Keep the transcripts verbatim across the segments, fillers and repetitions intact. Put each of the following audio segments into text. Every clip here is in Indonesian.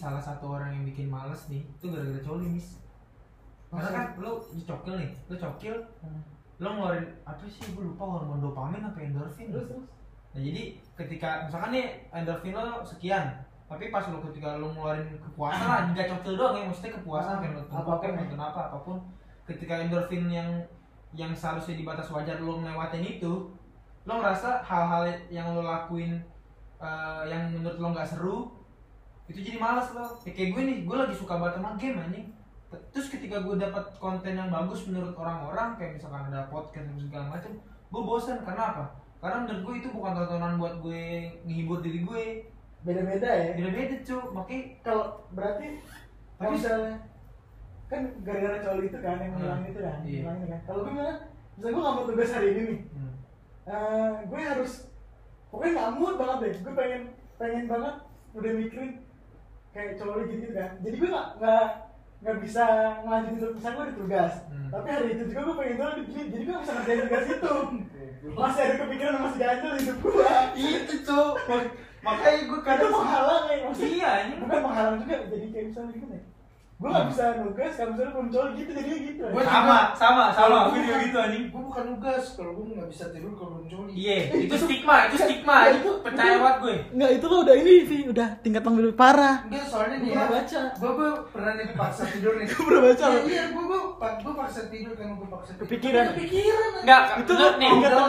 salah satu orang yang bikin males nih itu gara-gara coli mis. Karena kan lo cokil nih, lo cokil, hmm. lo ngeluarin apa sih? Gue lupa hormon dopamin apa endorfin. Terus terus. Nah jadi ketika misalkan nih endorfin lo sekian, tapi pas lo ketika lo ngeluarin kepuasan lah, nggak cokil doang ya, maksudnya kepuasan kayak nonton apa nonton apa apapun. Ketika endorfin yang yang seharusnya di batas wajar lo ngelewatin itu, lo ngerasa hal-hal yang lo lakuin uh, yang menurut lo nggak seru, itu jadi malas lo. Ya, kayak gue nih, gue lagi suka banget sama game anjing. Terus ketika gue dapat konten yang bagus menurut orang-orang, kayak misalkan ada podcast dan segala macam, gue bosan. Karena apa? Karena menurut gue itu bukan tontonan buat gue menghibur diri gue. Beda-beda ya? Beda-beda cuy, makanya kalau berarti tapi misalnya kan gara-gara coli itu kan yang bilang itu kan, iya. bilang itu kan. Kalau gue bilang, misalnya gue nggak mau tugas hari ini nih, hmm. uh, gue harus pokoknya nggak mood banget deh. Gue pengen pengen banget udah mikirin kayak coli gitu kan. Jadi gue nggak nggak nggak bisa ngelanjutin tugas, misalnya gue ada tugas, hmm. tapi hari itu juga gue pengen banget gini, jadi gue bisa ngerjain tugas itu. Masih ada kepikiran masih ganjel hidup gue. Itu cuy. Makanya gue kadang itu menghalang ya maksudnya. Iya, ini bukan menghalang juga, jadi kayak misalnya gimana ya? Gue nggak bisa nugas kalau misalnya belum coli gitu, jadinya gitu. Gue sama, sama, sama. Gue juga gitu anjing. Gue bukan nugas kalau gue nggak bisa tidur kalau belum coli. Iya, itu stigma, itu stigma. Itu percaya banget gue. Enggak, itu lo udah ini sih, udah tingkat yang lebih parah. Enggak, soalnya nih. Gue baca. Gue gue pernah nih paksa tidur nih. Gue pernah baca. Iya, iya, gue gue gue paksa tidur kan gue paksa tidur. Kepikiran. Kepikiran. Enggak, itu lo nih.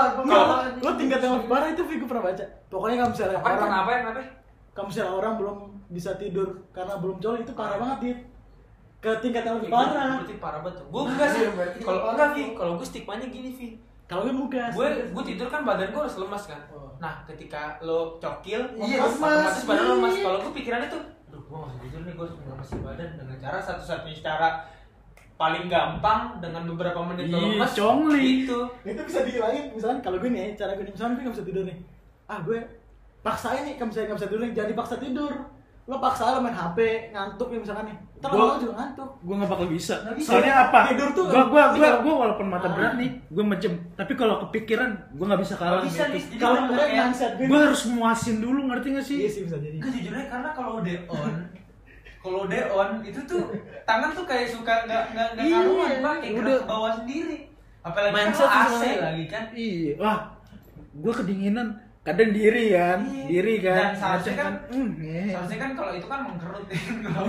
Lo tingkat yang lebih parah itu gue pernah baca. Pokoknya kalau misalnya orang apa ya, apa? Kalau misalnya orang belum bisa tidur karena belum coli itu parah banget dia. Ke tingkat yang lebih parah. Berarti parah banget. Gue enggak sih. Kalau enggak Vi, kalau gue stigmanya gini Vi. Kalau gue nugas. Gue gue tidur kan badan gue harus lemas kan. Nah, ketika lo cokil, iya, otomatis badan lo lemas. Kalau gue pikirannya tuh, aduh gue nggak tidur nih, gue harus ngelemesin badan dengan cara satu-satunya cara paling gampang dengan beberapa menit lo lemas. Congli. Itu. Itu bisa dihilangin. Misalkan kalau gue nih, cara gue nih, misalkan gue nggak bisa tidur nih. Ah gue paksain nih, kalau misalnya nggak bisa tidur nih, jangan dipaksa tidur. Lo paksa lo main H P, ngantuk ya misalkan nih. Ntar lo juga ngantuk. Gue nggak bakal bisa. bisa. Soalnya apa? Tidur tuh. Gue gue gue gue walaupun mata berat nih, gue mejem. Tapi kalau kepikiran, gue nggak bisa kalah. Bisa nih. Gitu. Kalau nggak mindset gue harus muasin dulu, ngerti nggak sih? Iya sih bisa jadi. Gue jujurnya karena kalau udah on, kalau udah on itu tuh tangan tuh kayak suka nggak nggak nggak karuan, Bang, kayak gerak ke bawah sendiri. Apalagi mindset kan A C sesuai. lagi kan. Iya. Wah, gue kedinginan. Kadang diri kan, iya. diri kan. Dan seharusnya kan, mm, yeah. seharusnya kan kalau itu kan mengkerut ya kalau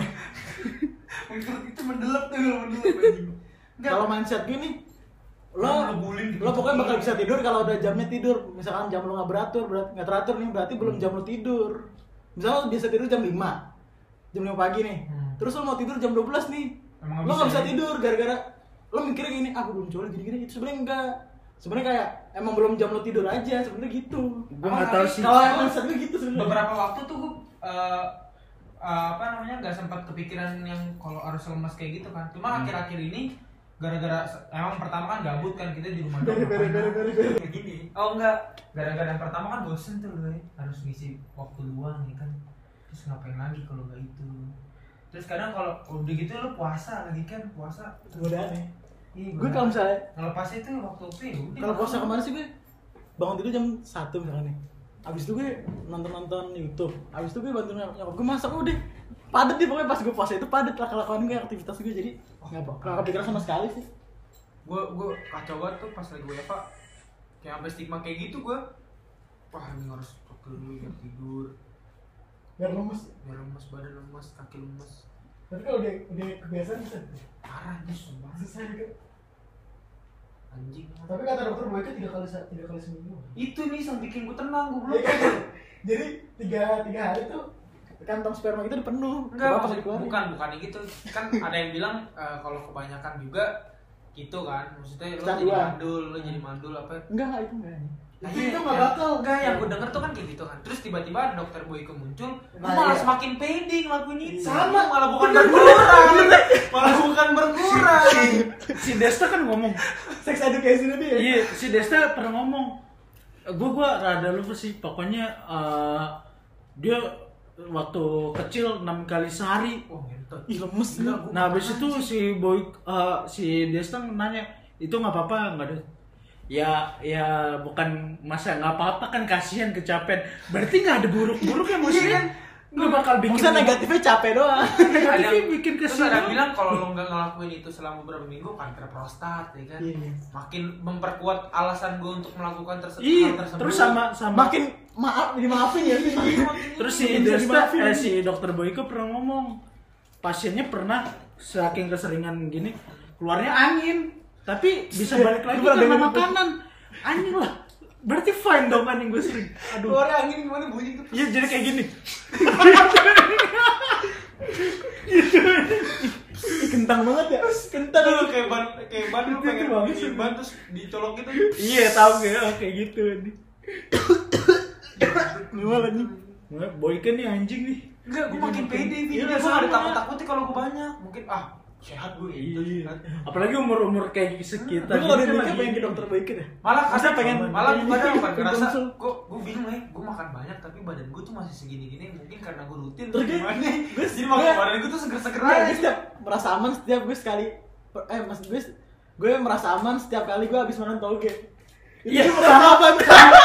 mengkerut itu mendelep tuh kalau mendelep. Kalau mindset gini, lo ngebulin lo pokoknya bakal bisa tidur kalau udah jamnya tidur. Misalkan jam lo nggak beratur, berat nggak teratur nih, berarti belum jam lo tidur. Misalnya lo biasa tidur jam lima, jam lima pagi nih. Hmm. Terus lo mau tidur jam dua belas nih, emang lo nggak bisa ya? Tidur gara-gara lo mikirnya gini, ah belum coli gini-gini. Itu sebenarnya enggak. Sebenarnya kayak emang belum jam lo tidur aja, sebenarnya gitu. Gue nggak tahu sih. Kalau emang sebenarnya gitu sebenarnya. Beberapa waktu tuh gue uh, uh, apa namanya nggak sempat kepikiran yang kalau harus lemas kayak gitu kan. Cuma hmm. akhir-akhir ini gara-gara emang pertama kan gabut kan kita di rumah doang. Kayak gini. Oh enggak, gara-gara yang pertama kan bosen tuh loh, harus ngisi waktu luang ya kan. Terus ngapain lagi kalau nggak itu. Terus kadang kalau udah gitu lo puasa lagi kan, puasa. Godaan ya. Iya, gue kalau misalnya ngelepas itu waktu P U. Kalau puasa kemarin sih gue bangun tidur jam satu misalnya nih. Abis itu gue nonton-nonton YouTube. Abis itu gue bantuin nyokap gue masak udah. Padet deh pokoknya pas gue puasa itu padet lah kelakuan gue aktivitas gue jadi enggak oh, enggak kepikiran sama sekali sih. Gue gue kacau banget tuh pas lagi W F H. Kayak sampai stigma kayak gitu gue. Wah, ini harus fokus dulu biar tidur. Biar lemes, biar lemes badan lemes, kaki lemes. Tapi kalau udah udah kebiasaan bisa parah nih sumpah. Susah juga. Anjing. Tapi kata dokter Boyka tiga kali tiga kali seminggu. Itu nih yang bikin gue tenang, gue belum. Jadi tiga tiga hari tuh kantong sperma itu udah penuh. Enggak, maksud, bukan bukan gitu. Kan ada yang bilang uh, kalau kebanyakan juga gitu kan. Maksudnya lo jadi mandul, lo jadi mandul apa? Enggak, itu enggak. Nah, itu, iya, itu nggak ya, bakal. Enggak, yang gue denger tuh kan kayak gitu kan. Terus tiba-tiba ada dokter Boyke muncul, nah, malah iya. semakin pede ngelakuin itu. Sama, malah bukan berkurang. malah bukan berkurang. Si, si Desta kan ngomong sex education dia. Iya, si Desta pernah ngomong. Gue gue rada lupa sih. Pokoknya uh, dia waktu kecil enam kali sehari. Oh, ngentot. Ih, lemes. Nah, habis itu si Boy uh, si Desta nanya, "Itu enggak apa-apa, enggak ada." Ya, ya bukan masa nggak apa-apa kan, kasihan kecapean. Berarti nggak ada buruk-buruknya maksudnya. Nggak bakal bikin. Maksudnya negatifnya capek doang. Negatifnya bikin Terus kesini. ada bilang kalau lo nggak ngelakuin itu selama beberapa minggu kanker prostat ya kan. Iya. Makin memperkuat alasan gue untuk melakukan terse- Ih, hal tersebut. terus sama sama Makin maaf dimaafin ya sih. terus si Bisa Desta, dimaafin. eh, si dokter Boyko pernah ngomong pasiennya pernah saking keseringan gini keluarnya angin tapi bisa balik lagi Gua pernah karena dengar itu. makanan anjing lah berarti fine dong anjing gue sering aduh Keluar angin gimana bunyi tuh? iya jadi kayak gini Ih, kentang banget ya. Kentang. Lu kayak ban kayak ban lu Itu pengen bagus. bikin ban terus dicolok gitu. iya tahu kayak kayak gitu nih Gimana nih? Boyko nih anjing nih Enggak, gue makin pede nih. Iya, Gue sama. gak ada takut-takutnya kalau gue banyak. Mungkin ah sehat gue gitu. iya sehat. apalagi umur umur kayak sekitar Tapi kalau gitu dia kan nikah lagi- pengen ke dokter Boyko deh. Malah Maksudnya kadang pengen- malah gue kadang bukan pengen ngerasa konsul. gue gue bingung ya gue makan banyak tapi badan gue tuh masih segini-gini mungkin karena gue rutin Terus dia- gimana gue- jadi makan gue- badan gue tuh seger-seger Iya, aja gue setiap merasa aman setiap gue sekali eh maksud gue gue merasa aman setiap kali gue habis makan toge. Itu Iya. gue merasa aman.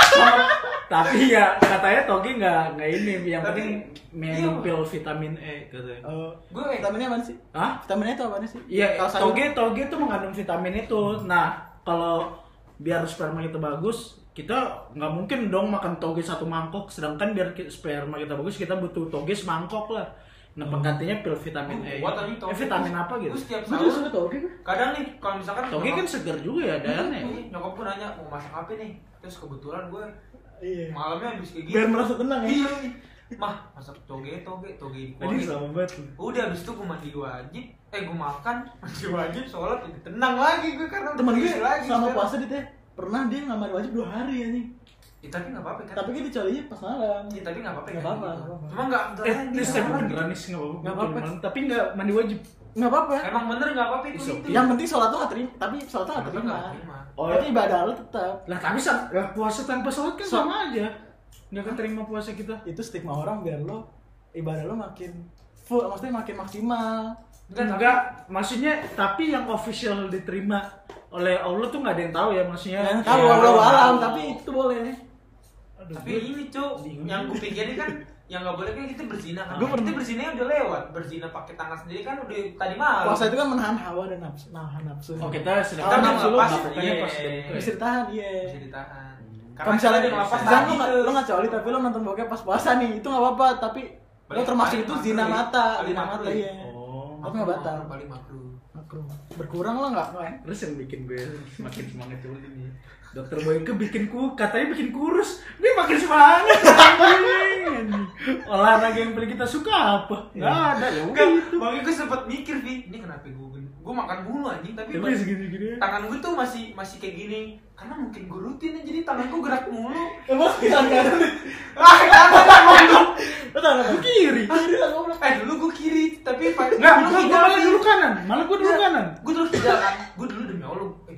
tapi ya katanya toge nggak nggak ini yang Tapi- penting minum pil vitamin E katanya Oh, gue vitaminnya apa sih? Hah? Vitaminnya itu apa sih? Iya, Kalau sayur- toge toge itu mengandung vitamin itu. Nah, kalau biar sperma kita bagus, kita nggak mungkin dong makan toge satu mangkok. Sedangkan biar ki- sperma kita bagus, kita butuh toge semangkok lah. Nah, penggantinya pil vitamin E. Buat tadi toge. Eh, vitamin apa gitu? gue setiap Gue juga suka sahur toge gue. kadang nih kalau misalkan Toge kan segar juga ya, Dan ya. Iya, nyokap gue nanya mau masak apa nih terus kebetulan gue Iya. malamnya habis kayak gitu Biar merasa tenang ya. iya mah masak toge toge toge di Ini sama banget. udah habis itu gue mandi wajib eh gue makan mandi wajib sholat jadi tenang lagi gue karena udah Temen gue terisi lagi sama sekarang. puasa dia teh pernah dia nggak mandi wajib dua hari ya nih. ya, tapi nggak apa-apa kan Tapi kan dicolinya pas malam. ya, tapi nggak apa-apa Nggak kan apa-apa, gitu. nggak apa-apa. cuma nggak Eh, beneran ini dia saya salah. beneran nih nggak apa-apa. Nggak apa-apa. Cuman- Tapi nggak mandi wajib. Nggak apa-apa. emang bener nggak apa-apa itu It's itu okay. Yang penting sholat tuh nggak terima, tapi sholat tuh nggak Tapi terima. nggak terima. Oh, Tapi ibadah lo tetap. Lah tapi sa- lah, puasa tanpa sholat kan So- sama aja. Nggak keterima puasa kita. Itu stigma orang biar lo ibadah lo makin full, maksudnya makin maksimal. Enggak, tapi- Enggak, maksudnya tapi yang official diterima oleh Allah tuh nggak ada yang tahu ya maksudnya. Yang tahu Ya, Allah alam, tahu. tapi itu boleh. Aduh, tapi gue- ini cuk bingung. yang gue pikirin kan yang nggak boleh kan kita berzina kan Gue kita pernah- berzina udah lewat berzina pakai tangan sendiri kan udah tadi malam Puasa itu kan menahan hawa dan nafsu, nahan nafsu. Oh kita sedang Kita Kita nafsu lo ngelepas, melakukannya iya. pas sedang buka. bisa ditahan, iya. bisa ditahan Kalau misalnya kita ngelepas misalnya tadi lo nggak tuh. lo nggak coli tapi lo nonton bokep pas puasa nih, itu nggak apa-apa. Tapi lo Paling- termasuk paling itu makruh zina ya. mata, Paling zina makruh mata ya. iya. Oh. Aku nggak batal. paling makruh Makruh. Berkurang lo nggak nggak? Terus yang bikin gue makin semangat coba ini. Dokter Boyke bikin ku katanya bikin kurus. Gue makin semangat. anjing. Olahraga yang paling kita suka apa? Enggak ada ya. enggak Udah itu. makanya gue sempet mikir Vi ini kenapa gue gue makan mulu anjing tapi Tapi pas- segini-gini. tangan gue tuh masih masih kayak gini karena mungkin gue rutin ya jadi tangan gue gerak mulu Emang bisa nggak? ah kanan kanan Lo tahu nggak? Kiri. Kiri lah goblok. eh dulu gue kiri tapi pas Enggak, dulu gue kidal, malah Vi. dulu kanan. Malah gue dulu Enggak, kanan. gue dulu kidal kan gue dulu demi Allah eh,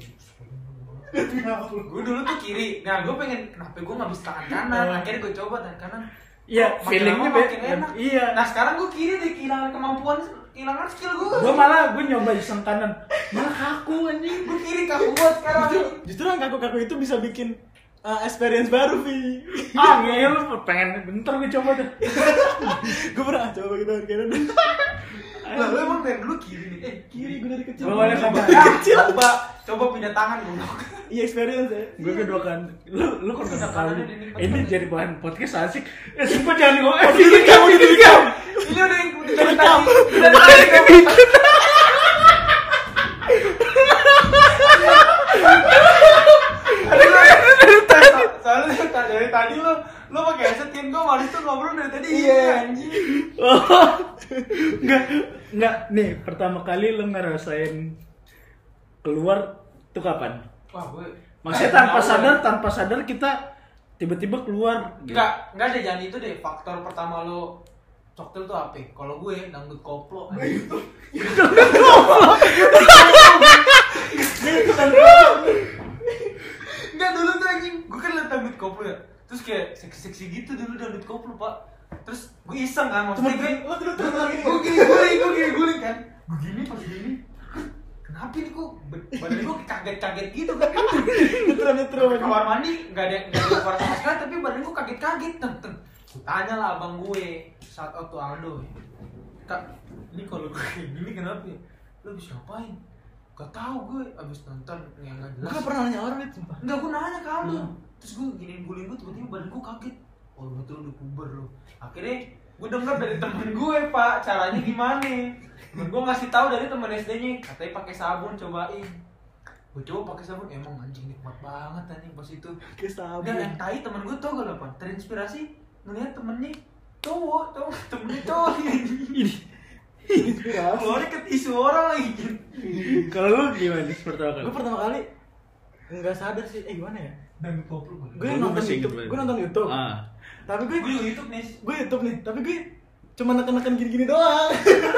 gue dulu tuh kiri nah gue pengen kenapa gue nggak bisa tangan kanan akhirnya gue coba tangan kanan Iya, Kok makin feelingnya lama be- makin enak. iya. Nah sekarang gue kiri deh kehilangan kemampuan kehilangan skill gue Gue malah gue nyoba iseng kanan. Malah kaku anjing. gue kiri kaku buat sekarang Justru, justru yang kaku-kaku itu bisa bikin uh, experience baru, Vi. Ah, ngeyel pengen bentar gue coba deh. Gue pernah coba gitu kanan. lah lu emang dari dulu kiri nih eh Kiri gue dari kecil. Gua boleh coba coba. Ah, coba coba pindah tangan gue Iya experience ya. Gue kedua kan, lu lu kok Sudah kedua kanan kali udah nikmat ini banget. jadi bahan podcast asik. Eh sumpah jangan gue, eh Ini kamu ini kamu. ini udah yang udah dari tadi udah dari tadi soalnya dari tadi lo lo pakai headset kan gue malu tuh ngobrol dari tadi Iya. anjing Enggak, enggak. Nih pertama kali lu ngerasain keluar tuh kapan? wah gue Maksudnya tanpa sadar, tanpa sadar kita tiba-tiba keluar. Gitu. enggak enggak ada jangan itu deh faktor pertama lo cocktail tuh apa kalau gue dangdut koplo gitu enggak dulu tuh anjing gue kan liat dangdut koplo ya terus kayak seksi-seksi gitu dulu dangdut koplo pak terus gue iseng kan maksudnya gue Lo dulu terus lagi. gue gini guling gue gini guling kan gue gini pas gini kenapa ini kok badan gue kaget-kaget gitu kan Nyetrum nyetrum. kamar mandi nggak ada nggak ada suara sama sekali tapi badan gue kaget-kaget teng teng gue tanya lah abang gue shout out to Aldo ya. Kak, ini kalau gue kayak gini kenapa ya? Lu habis ngapain? Gak tau gue abis nonton yang gak jelas. Gue gak pernah nanya orang itu sumpah. Enggak, gue nanya ke Aldo. Hmm. Terus gue giniin guling gue, tiba-tiba badan gue kaget. Oh betul udah puber lu. Akhirnya gue denger dari temen gue pak, caranya gimana? Temen gue ngasih tahu dari temen S D-nya, katanya pakai sabun cobain. Gue coba pakai sabun, emang anjing nikmat banget anjing pas itu. Kayak sabun. Dan yang tai temen gue tau gak apa? Terinspirasi ngeliat temennya cowok, cowok temennya cowok Ini Inspirasi. keluarnya ke tisu orang lagi. kalau lu gimana pertama kali? Gue pertama kali nggak sadar sih, eh gimana ya? Dan koplo gue. Gue Gua nonton masih YouTube, inget gue banget. nonton YouTube. Ah. Tapi gue Gue juga YouTube nih. gue YouTube nih, tapi gue cuma neken-neken gini-gini doang.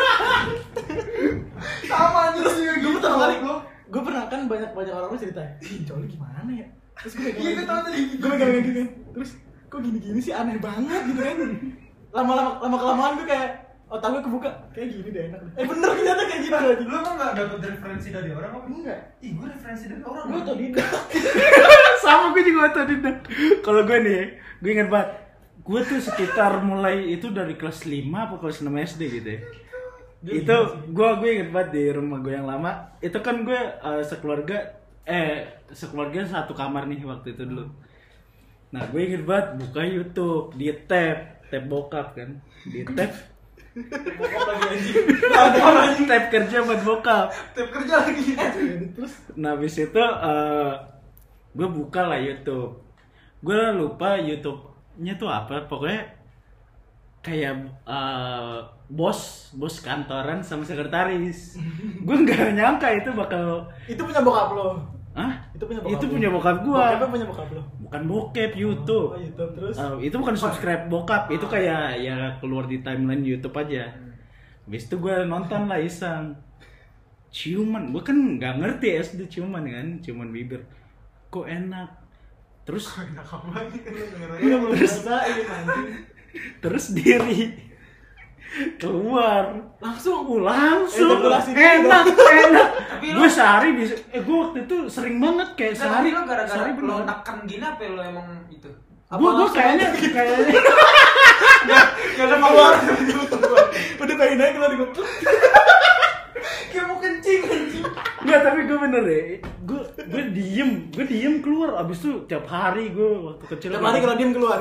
Sama aja Terus juga gue gitu. pertama kali gue gue pernah kan banyak banyak orang gue cerita, ih coli gimana ya? Terus gue Iya gue tau tadi. gue megang gitu kan, terus kok gini-gini sih aneh banget gitu kan. Lama-lama lama kelamaan gue kayak otak gue kebuka, kayak gini deh enak. Eh bener ternyata kayak gitu lagi. Lu emang gak dapet referensi dari orang apa? Enggak, Ih gue referensi dari orang. gue otodidak. Sama gue juga otodidak. Kalau gue nih, gue ingat banget. Gue tuh sekitar mulai itu dari kelas lima atau kelas enam S D gitu ya. Itu gue gue inget banget di rumah gue yang lama. Itu kan gue uh, sekeluarga eh sekeluarga satu kamar nih waktu itu dulu. Nah gue inget banget buka YouTube, di tab tab bokap kan, di tab Bokap lagi anjing. tab kerja buat bokap. Tab kerja lagi. Terus Nah habis itu uh, gue buka lah YouTube. Gue lupa YouTube-nya tuh apa, pokoknya kayak uh, bos bos kantoran sama sekretaris. Gue nggak nyangka itu bakal itu punya bokap lo. ah Itu punya bokap itu lo. punya bokap gue. Bokapnya punya bokap lo. Bukan bokep, YouTube. Oh, YouTube terus. Uh, itu bukan subscribe bokap, itu kayak ya keluar di timeline YouTube aja. Habis itu gue nonton lah iseng. Ciuman, gue kan nggak ngerti S D ciuman kan, ciuman bibir. Kok enak. Terus Enak banget kan lu dengerin. Gue belum ngerasain anjing. terus diri keluar Langsung Uh, langsung Ejakulasi enak dulu. enak Tapi gue lu- sehari bisa eh gue waktu itu sering banget kayak Nah, sehari tapi lo gara-gara sehari lo bener neken gini apa lo emang itu? Apa gue gue langsung kayaknya aja? kayaknya Gak ada keluar. Udah pengen aja keluar gue. Kayak mau kencing anjing. nggak tapi gue bener deh gue gue diem gue diem keluar abis itu tiap hari gue waktu kecil Tiap hari kalau diem keluar.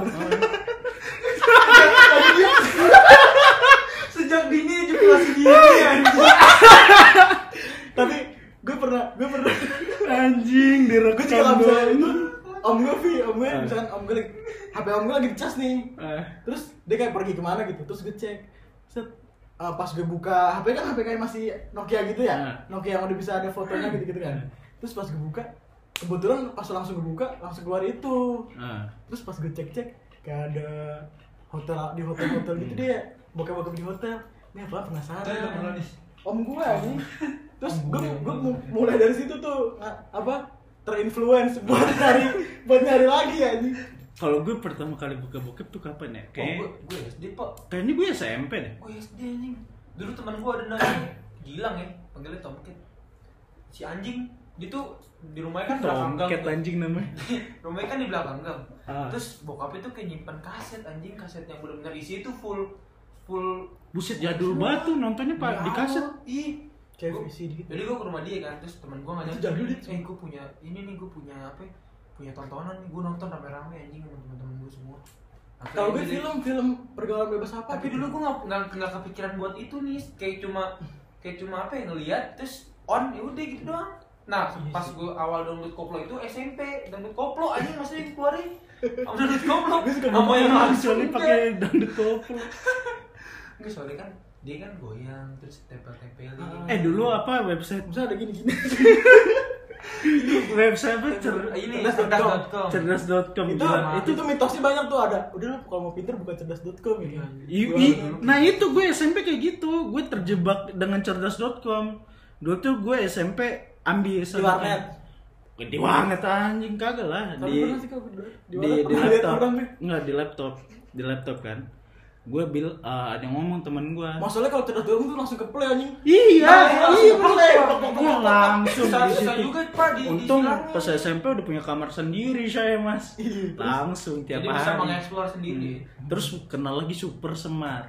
Sejak dini ejakulasi gini anjing. Tapi gue pernah gue pernah anjing gue juga direkam nggak bisa doang. itu. Om gue Vi, om gue Ah. misalkan om gue lagi H P om gue lagi dicas nih. Eh, Terus dia kayak pergi kemana gitu, terus gue cek. Set, uh, pas gue buka H P kan H P kayak masih Nokia gitu ya, Ah. Nokia yang udah bisa ada fotonya gitu-gitu kan. Terus pas gue buka, kebetulan pas langsung gue buka langsung keluar itu. eh. Terus pas gue cek-cek kayak ada hotel di hotel-hotel gitu dia, bokap-bokap di hotel. Ini apa penasaran? Itu yang mana nih? Om gue nih. Terus gue gue mulai dari situ tuh nga- apa terinfluence buat nyari buat nyari lagi ya nih. Kalau gue pertama kali buka bokep tuh kapan ya? Oh, Kayak gue gue S D pak. kayaknya gue S M P deh. Oh S D anjing. Dulu teman gue ada namanya Gilang ya, panggilnya Tomcat. Si anjing, dia tuh di rumahnya kan belakang gang. Tomcat tuh. anjing namanya. Rumahnya kan di belakang gang. Ah. Terus bokapnya tuh kayak nyimpan kaset anjing, kaset yang benar-benar isi itu full full Buset jadul banget tuh nontonnya pak di kaset. Ih. Kayak Gua- V C dikit. Jadi gue ke rumah dia kan, terus temen gue ngajak, Itu jadul, Dit. eh gue punya ini nih, gue punya apa ya, punya tontonan nih, gue nonton rame-rame anjing sama temen-temen gue semua. Akhirnya Kalau gue jadi- film film pergaulan bebas apa? tapi dulu gue nggak nggak nggak kepikiran buat itu nih, kayak cuma kayak cuma apa ya, ngeliat terus on ya udah gitu doang. Nah Iya pas sih. gue awal download koplo itu S M P, download koplo anjing maksudnya keluarin download koplo Gue suka sama yang langsung Kecuali pakai dangdut koplo. nggak, soalnya kan dia kan goyang terus tempel-tempelin. Ah. Eh dulu apa website Bisa ada gini-gini. website apa cer ini cerdas dot com. cerdas dot com. cerdas dot com itu itu tuh mitosnya banyak tuh ada. Udah lu kalau mau pinter buka cerdas dot com gitu. I- Gua- i- nah itu gue S M P kayak gitu, gue terjebak dengan cerdas dot com. Dulu tuh gue S M P ambil Di warnet. Di warnet anjing kagak lah. Tapi Di pernah sih kalau dulu. di, warnet di pernah lihat laptop. orang nih. Enggak di laptop, di laptop kan. Gue bil uh, ada yang ngomong temen gue. Masalahnya kalau cerdas dot com tuh langsung ke play anjing. Iya, Nah, iya langsung bener. play. Gue langsung Susah- di susah situ. juga, Pak, di- Untung dibilangnya. pas S M P udah punya kamar sendiri saya mas. Iya, terus? Langsung tiap Jadi bisa hari. mengeksplor sendiri. Hmm. Terus kenal lagi Super Smart.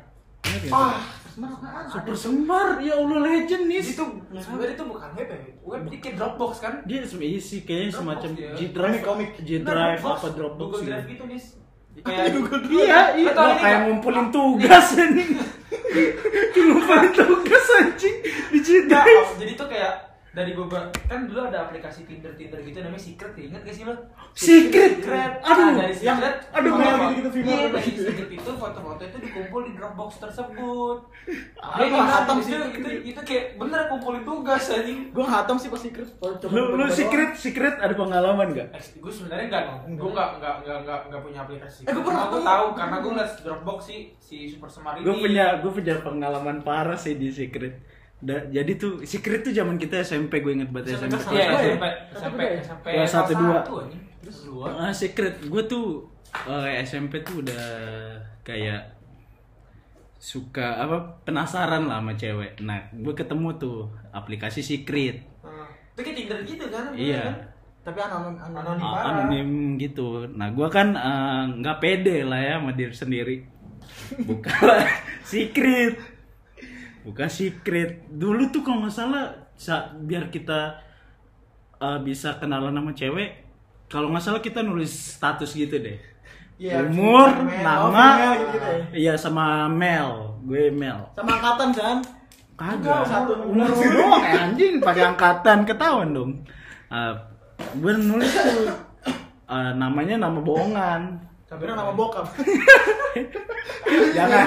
Ah, semar apaan? Super Semar, ya Allah legend nih. Itu sebenarnya itu bukan web ya, web bikin Dropbox kan? Dia isi kayaknya Dropbox semacam dia. G Drive, Komik, G Drive Dropbox, apa Dropbox Google gitu. Drive gitu nih. Kayak Iya, iya, Lo tau Wah, ini kayak nggak? ngumpulin tugas anjing. Ngumpulin tugas anjing di G Nggak, Drive. oh, jadi tuh kayak dari Google kan dulu ada aplikasi Tinder Tinder gitu namanya Secret ya, ingat gak sih lo? Secret. Secret. Aduh, Nah, dari yang- Secret aduh, foto- kayak gitu-gitu film iya, apa dari gitu. Secret itu foto-foto itu dikumpul di Dropbox tersebut. Ah, Dia gua nggak hatam itu, sih. itu, itu kayak bener kumpulin tugas anjing. Gue hatam sih pas secret. Oh, coba Lu lu coba secret secret ada pengalaman enggak? Eh, gue sebenarnya nggak, gue nggak nggak nggak nggak nggak punya aplikasi. Eh, gua pernah gue tuh. tahu karena gue ngeliat Dropbox sih si Super Semar ini. Gue punya gue punya pengalaman parah sih di secret. Da, jadi tuh secret tuh zaman kita S M P, gue inget banget S M P. kelas Iya, satu ya? S M P, S M P, S M P Kelas satu, dua. anjing. Terus dua. Ah, secret gue tuh eh, S M P tuh udah kayak suka apa penasaran lah sama cewek. Nah, gue ketemu tuh aplikasi secret. Hmm. Itu kayak Tinder gitu kan? Iya. Tapi anonim anonim. Anonim. Ah, parah. anonim gitu. Nah, gua kan eh, nggak pede lah ya sama diri sendiri. Buka lah secret. Buka secret. Dulu tuh kalau nggak salah sa- biar kita eh, bisa kenalan sama cewek, kalau nggak salah kita nulis status gitu deh. Iya, Umur, female, oh, nama, female gitu ya. iya sama Mel, gue Mel. Sama angkatan kan? Kagak, Satu umur doang eh, anjing pakai angkatan ketahuan dong. Uh, gue nulis tuh uh, namanya nama bohongan. Tapi nama bokap. Jangan.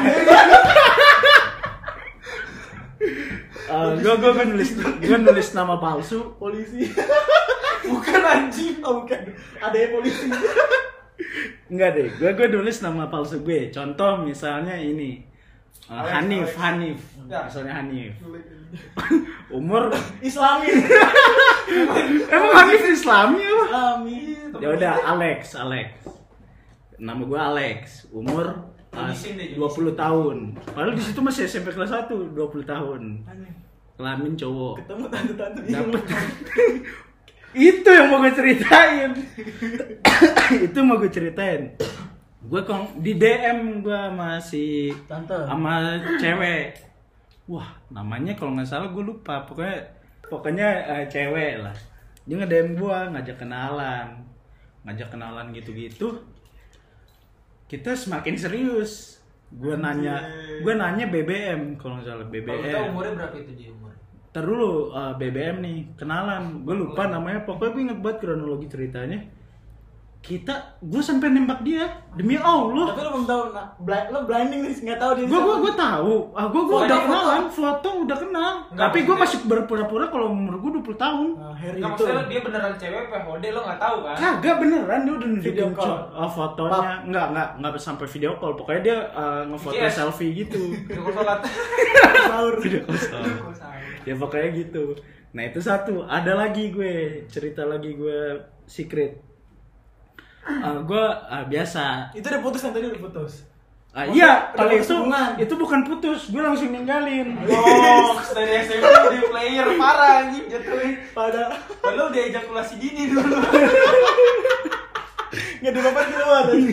uh, gue gue gue nulis gue nulis nama palsu. Polisi. Bukan anjing. Oh, bukan. Ada yang polisi. Enggak deh, gue gue nulis nama palsu gue. Contoh misalnya ini uh, Alex, Hanif, Alex. Hanif, Ya. misalnya Hanif. Umur Islami. emang Hanif Islami apa? Islami. Ya udah Alex, Alex. Nama gue Alex. Umur uh, Jenisin deh, dua puluh tahun. Padahal di situ masih S M P kelas satu, dua puluh tahun. Kelamin cowok. Ketemu tante-tante di Dapet. Itu yang mau gue ceritain. Itu mau gue ceritain. Gue kong di D M gue masih Tante. sama cewek. Wah, namanya kalau nggak salah gue lupa. Pokoknya pokoknya eh, cewek lah. Dia nge-D M gue, ngajak kenalan. Ngajak kenalan gitu-gitu. Kita semakin serius. Gue nanya, gue nanya B B M kalau nggak salah B B Kalau tahu M. umurnya berapa itu dia umur? Ntar dulu uh, B B M nih, kenalan. Gue lupa namanya, pokoknya gue inget banget kronologi ceritanya. Kita, gue sampai nembak dia demi Allah. Tapi lo belum tahu, nah, blind, lo blinding nih, nggak tahu dia. Gue gue siapa. gue tahu, ah gue gue Foto, udah foto. kenalan, foto udah kenal. Enggak, Tapi gue maksudnya- masih berpura-pura kalau umur gue dua puluh tahun. Nah, Harry Nggak, itu. maksudnya dia beneran cewek P H D lo nggak tahu kan? Kagak beneran, dia udah nunjukin Video call. co- uh, fotonya. Enggak, enggak, enggak sampai video call. Pokoknya dia uh, ngefoto Yes. selfie gitu. Video sholat. Sahur. Video call sama. Ya pokoknya gitu. Nah itu satu. Ada lagi gue cerita lagi gue secret. Uh, gue uh, biasa. Itu udah putus kan tadi udah putus. Ah, Oh, iya, udah kalau putus itu hubungan. itu bukan putus. Gue langsung ninggalin. Oh, dari S M P di player parah anjing jatuhin. Pada Padahal dia ejakulasi dini dulu. nggak dibapak keluar tadi.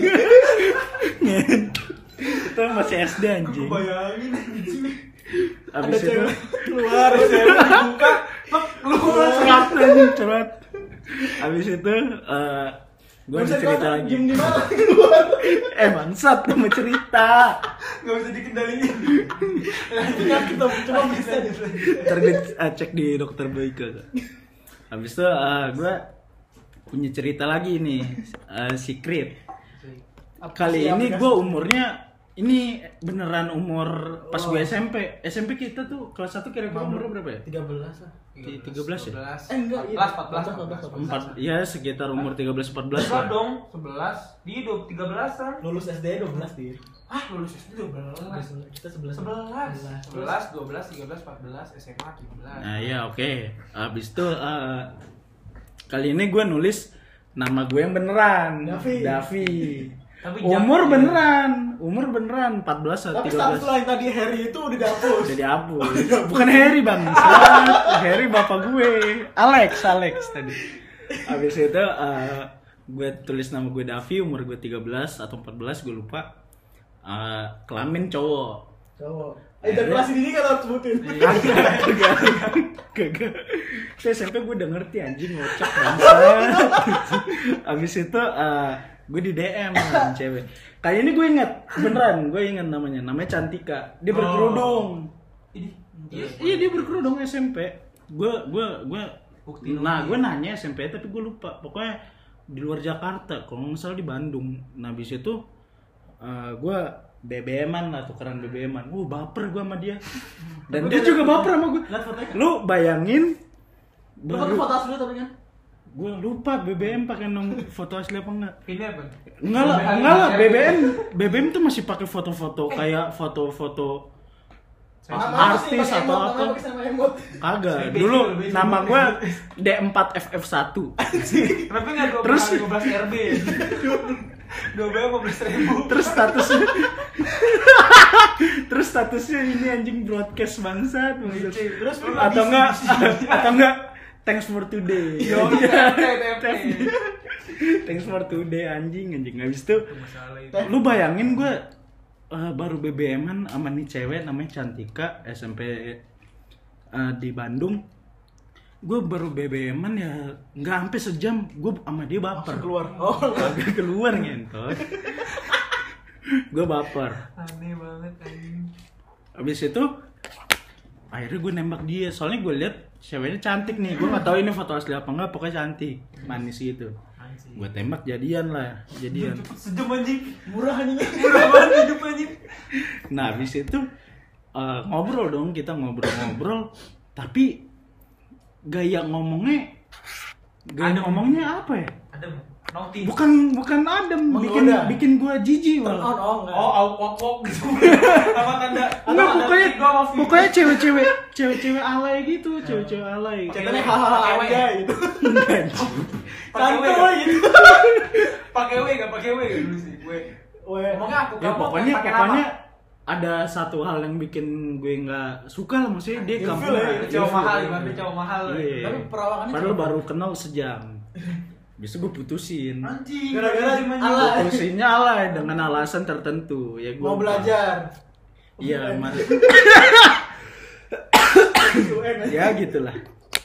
Itu masih S D anjing. Bayangin anjing. Ada Abis itu cewek keluar. Buka, plek, lu cerat anjing, cerat. Abis itu eh gue Nggak ada bisa cerita keluar, lagi. diem di mana keluar. Eh bangsat, gue mau cerita. nggak bisa dikendaliin. Nggak kita cuma bisa deh. Ntar gue eh, cek di dokter Boyke. Habis itu eh, gue punya cerita lagi nih, eh, secret. Kali sih ini aplikasi? gue umurnya ini beneran umur pas gue S M P. S M P kita tuh kelas satu kira-kira umurnya berapa ya? tiga belas lah. tiga belas ya? Eh, enggak, iya. empat belas, empat belas, Empat, ya sekitar umur tiga belas empat belas Enggak lah. dong, sebelas. Dia udah tiga belasan. Lulus S D dua belas dia. Ah, lulus S D dua belas. Kita sebelas. Sebelas, sebelas, dua belas, tiga belas, empat belas, S M A tujuh belas. Nah ya oke. Habis itu eh, kali ini gue nulis nama gue yang beneran. Davi. Davi. Tapi Umur jangan- beneran, umur beneran empat belas atau Tapi tiga status belas. lo yang tadi Harry itu udah dihapus. Jadi hapus. Bukan Harry bang, Harry bapak gue, Alex, Alex tadi. Habis itu eh, gue tulis nama gue Davi, umur gue tiga belas atau empat belas gue lupa. Eh, kelamin cowok. Cowok. Ejakulasi dini kan harus sebutin. Kagak, kagak. Saya S M P gue udah ngerti anjing ngocak bangsa. Abis itu uh, gue di D M sama cewek. Kali ini gue inget, beneran gue inget namanya. Namanya Cantika. Dia berkerudung. Ini Iya, iya dia berkerudung S M P. Gue gue gue nah gue nanya S M P tapi gue lupa. Pokoknya di luar Jakarta, kalau nggak salah di Bandung. Nah abis itu uh, gue B B M-an lah, tukeran B B M-an. Uh, baper gue sama dia. Dan dia juga baper sama gue. Lu bayangin Lu foto foto asli tapi kan? Gue lupa B B M pakai nomor foto asli apa enggak? ini apa? Enggak lah, enggak lah. B B M B B M tuh masih pakai foto-foto kayak foto-foto artis atau apa? Kagak. Dulu nama gue D empat F F satu. Kenapa nggak dua Terus belas R B? dua belas lima belas ribu. Terus statusnya Terus statusnya ini anjing broadcast bangsat. Terus lu Atau enggak atau enggak thanks for today. Yo, T F T. Thanks for today anjing anjing. Habis itu lu bayangin gue uh, baru B B M-an sama nih cewek namanya Cantika S M P uh, di Bandung. Gue baru B B M-an ya nggak sampai sejam gue sama dia baper. Langsung keluar. Oh, kagak keluar ngentot. Gue baper. Aneh banget anjing. Habis itu akhirnya gue nembak dia. Soalnya gue lihat ceweknya cantik nih. Gue nggak tahu ini foto asli apa enggak, pokoknya cantik, manis gitu. Gue tembak jadian lah, jadian. Sejam anjing. murah anjing. Murah banget hidup anjing. Nah habis itu uh, ngobrol dong, kita ngobrol-ngobrol. Tapi gaya ngomongnya, gaya Adem. ngomongnya apa ya? Adem. Naughty. Bukan bukan adem, bikin Menggoda. bikin gue jijik Turn on malah. oh enggak. Oh, awk wok wok gitu. Apa tanda? Enggak, apa pokoknya tanda tiga sama pokoknya cewek-cewek cewek-cewek alay gitu, cewek-cewek alay. Ceritanya hahaha aja gitu. Enggak, anjing. Pakai W Santai nggak? gitu. Pakai W enggak pakai W nggak dulu sih? W. Weh. Ngomongnya aku Ya kamu pokoknya pakai pokoknya nama. ada satu hal yang bikin gue nggak suka lah, maksudnya dia Ilfil kamu ya, Ada cowok mahal, gimana cowok mahal. Iya. Tapi perawakannya Padahal cuma- baru kenal sejam. Bisa gue putusin. Anjing. Gara-gara anjing, anjing. alay. Putusinnya alay dengan alasan tertentu. Ya gue Mau belajar. Iya, mas. U N aja. Ya gitulah.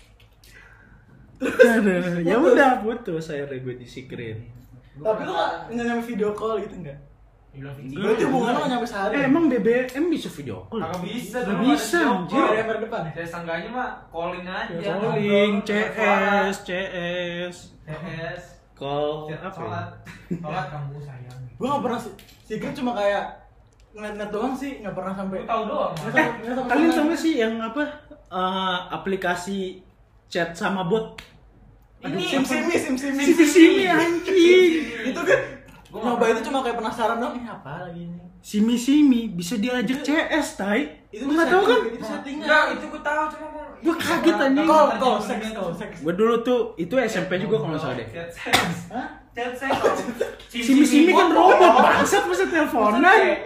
Aduh, ya udah putus akhirnya gue disikrin. Tapi lu nggak nyampe video call gitu enggak? Bilang Enggak. Berarti hubungan lu nggak nyampe sehari. Eh emang B B M bisa video call? Kagak bisa Nggak dong. bisa, ada anjir. video Dari call. yang depan ya? Saya sangganya mah calling aja. Calling, C Ngobrol, S, C S, C S. call, Chat apa ya? sholat. Sholat kamu sayang. Gua nggak pernah sih. Secret cuma kayak ngeliat-ngeliat doang sih, nggak pernah sampai. Lu tahu doang. Nggak Mas. sampai- nggak sampai Kalian sana. tau gak sih yang apa uh, aplikasi chat sama bot? Ini sim simi sim simi Simi simi anjing. itu kan Gua nyoba nggak itu cuma kayak penasaran dong, ini apa lagi ini? Simi simi bisa diajak C S, tai. Itu Lu nggak tahu kan? Itu settingan. Enggak, itu gua tahu cuma gua Gua kaget, anjing. Call, call, seks, call, seks. Gue dulu tuh itu S M P juga kalau nggak salah deh. Chat seks. Hah? Chat seks. Simi simi kan robot bangsat masa teleponan.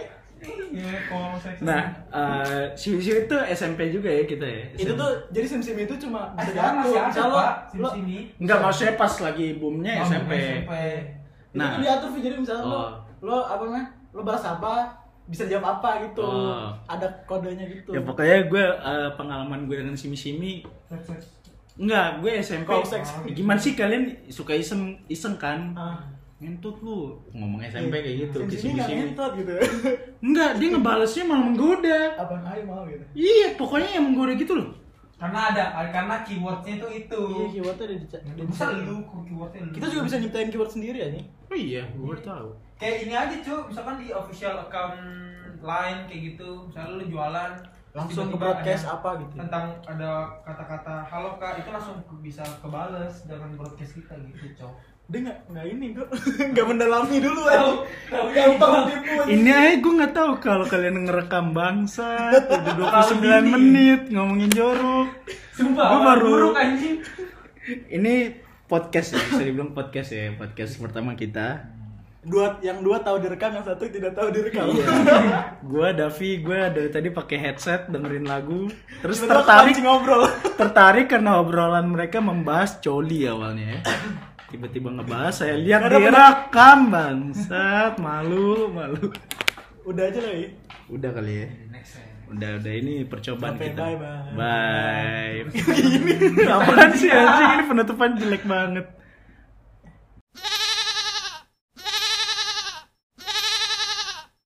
Iya, call seks. Nah, uh, simi simi itu S M P juga ya kita ya. Itu tuh jadi sim sim itu cuma bisa sekarang jatuh. masih ada, Misal lo, Pak, lo sini. Enggak, maksudnya pas lagi boomnya S M P. itu Nah. tuh diatur Vi. Jadi misalnya lo Oh. lo apa namanya? Lo balas apa? Bisa jawab apa gitu. Oh. Ada kodenya gitu. Ya pokoknya gue uh, pengalaman gue dengan simi simi Seks, seks. enggak, gue S M P. Call seks. Gimana sih kalian suka iseng iseng kan? Ah. Ngentut lu ngomong S M P kayak gitu ke Sim simi nggak simi-simi. ngentot gitu. Enggak, dia ngebalesnya malah menggoda. Apa ayo mau gitu. Iya, pokoknya yang menggoda gitu loh. Karena ada, karena keywordnya itu itu. Iya, keywordnya ada di chat. Bisa lu keywordnya lu. Kita juga bisa nyiptain keyword sendiri ya nih. Oh iya, gue baru tahu. Kayak ini aja cuy, misalkan di official account Line kayak gitu, misalnya lu jualan Langsung ke tiba-tiba broadcast ada apa gitu. tentang ada kata-kata halo kak, itu langsung bisa kebales dengan broadcast kita gitu cok. Dia nggak nggak ini kok nggak mendalami dulu Tahu, aja. tahu Gampang gitu. tipu. aja. Ini aja gue nggak tahu kalau kalian ngerekam bangsa udah dua puluh sembilan Terlalu dini. menit ngomongin jorok. Sumpah, Gua orang baru- buruk anjing. Ini podcast ya, bisa dibilang podcast ya, podcast pertama kita. Dua yang dua tahu direkam, yang satu tidak tahu direkam. Gua Davi, gua dari tadi pakai headset dengerin lagu, terus Tiba-tiba tertarik kepancing ngobrol. tertarik karena obrolan mereka membahas coli awalnya ya. Tiba-tiba ngebahas, saya lihat Nggak ada direkam bangsat, malu malu. Udah aja lah ya. Udah kali ya. Udah udah ini percobaan Sampai kita. bye, bye. Bye. Ini apaan sih anjing, ini penutupan jelek banget.